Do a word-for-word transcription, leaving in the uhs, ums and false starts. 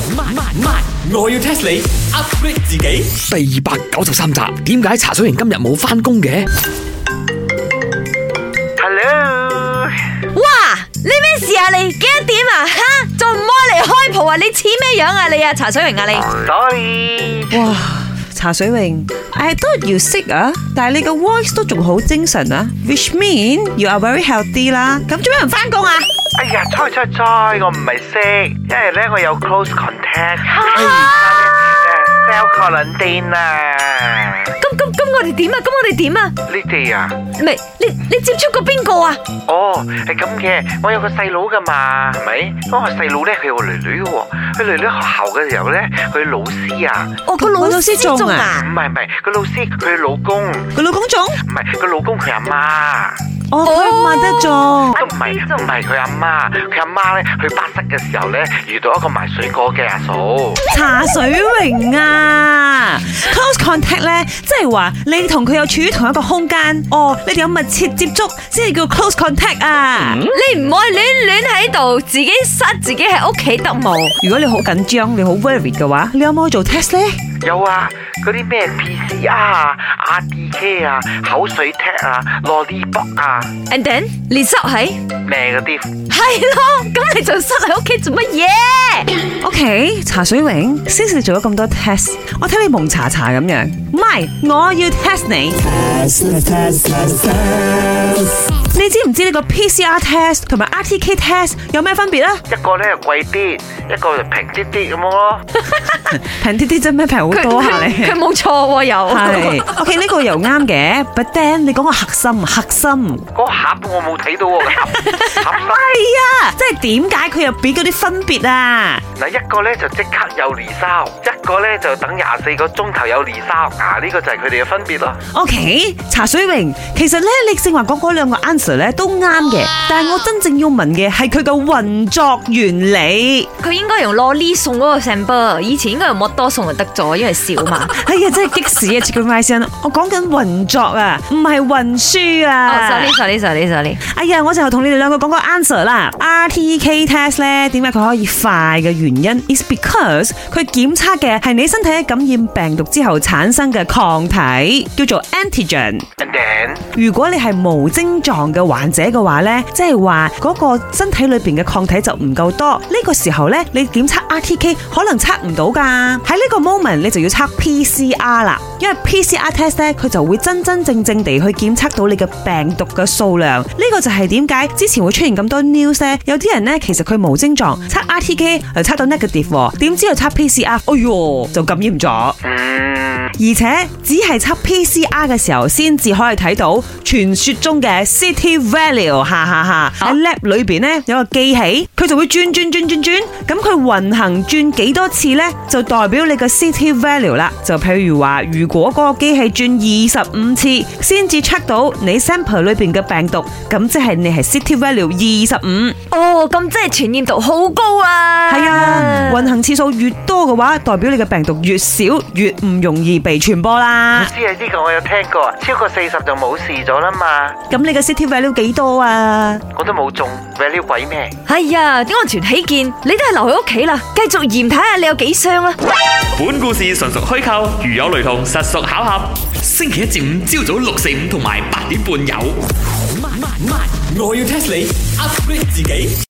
慢慢慢，我要 test 你 upgrade 自己。第二百九十三集，點解茶水榮今日冇返工嘅 ？Hello， 哇，你咩事啊你？幾多點啊？哈，仲唔開嚟開鋪啊？你似咩樣啊你啊？茶水榮啊你 Sorry， 哇，茶水榮 ，I thought you sick 啊，但係你個 voice 都仲好精神啊 ，which mean you are very healthy 啦。咁做咩唔返工啊？ 哎呀，猜猜猜，我唔係識，因為咧我有 close contact， self quarantine 啊。 咁咁咁我哋點啊？咁我哋點啊？ 你哋啊？ 唔係，你你接觸過邊個啊？ 哦，係咁嘅，我有個細佬噶嘛，係咪？咁我細佬咧，佢有個女女嘅喎，佢女女學校嘅時候咧，佢老師啊， 哦，個老師中啊？ 唔係唔係，個老師佢老公， 個老公中？ 唔係，個老公佢阿媽。 哦，佢問得中。 都唔係唔係佢阿媽，佢阿媽咧去巴士嘅時候咧，遇到一個賣水果嘅阿嫂。 茶水榮啊 ，close contact 咧，即係話你同佢有處於同一個空間，哦，你哋有密切接觸，先係叫 close contact 啊。 你唔可以亂亂喺度，自己塞自己喺屋企得冇？ 如果你好緊張，你好 worried 嘅話，你有冇去做 test 咧？ 有啊，嗰啲咩 P C R 啊、R D K 啊、口水 test 啊、lollipop 啊 ，and then 你塞喺咩嗰啲？ 係咯，咁你就塞喺屋企做乜嘢 ？OK， 茶水榮，先至做咗咁多 test， 我睇你蒙查查咁樣，唔係，我要 test 你。你知唔知呢個 P C R test 同埋 R T K test 有咩分別啊？ 一個咧貴啲，一個就平啲啲咁樣咯。 平啲啲真咩？平好多下你。 佢冇錯喎，又係。OK， 呢個又啱嘅 ，but then 你講個核心，核心。 嗰個盒我冇睇到喎，盒盒係啊，即係點解佢又俾嗰啲分別啊？ 嗱，一個咧就即刻有離燒，一個咧就等廿四個鐘頭有離燒。啊，呢個就係佢哋嘅分別咯。 OK， 茶水榮，其實咧你正話講嗰兩個 answer 咧都啱嘅，但係我真正要問嘅係佢嘅運作原理。 佢應該用攞呢送嗰個 sample， 以前應該用摩多送就得咗，因為少嘛。 哎呀，真係激死啊 Chicken Rice， 我講緊運作啊，唔係運輸啊。 哦 sorry sorry sorry sorry。 哎呀，我就同你哋兩個講個 answer 啦。R T K test 咧，點解佢可以快嘅原因 is because 佢檢測嘅係你身體喺感染病毒之後產生嘅抗體，叫做 antigen。 And then， 如果你係無症狀嘅患者嘅話咧，即係話嗰個身體裏邊嘅抗體就唔夠多，呢個時候咧你檢測 R T K 可能測唔到噶。喺呢個 moment 你就要測 P C R 啦，因為 P C R test 咧佢就會真真正正地去檢測到你嘅病毒嘅數量。呢個就係點解之前會出現咁多 news 咧？有啲人咧其實佢無症狀測 R T K 又測到 negative， 點知又測 P C R， 哎喲就感染咗。 嗯， 而且只係測 P C R 嘅時候先至可以睇到傳說中嘅 city value， 哈哈哈！喺 lab 裏邊咧有個機器，佢就會轉轉轉轉轉，咁佢運行轉幾多次咧，就代表你嘅 city value 啦。就譬如話，如果嗰個機器轉二十五次先至 check 到你 sample 裏邊嘅病毒，咁即係你係 city value 二十五。 哦，咁即係傳染度好高啊！ 係啊，運行次數越多嘅話，代表你嘅病毒越少，越唔容易被傳播啦。 知啊，呢個我有聽過，超過四十就冇事咗啦嘛。 咁你嘅 city value 幾多啊？ 我都冇中 value 鬼咩？ 係啊，點安全起見，你都係留喺屋企啦，繼續驗睇下你有幾傷啦。 本故事純屬虛構，如有雷同，實屬巧合。星期一至五朝早六四五同埋八點半有。慢慢慢，我要 test 你 upgrade 自己。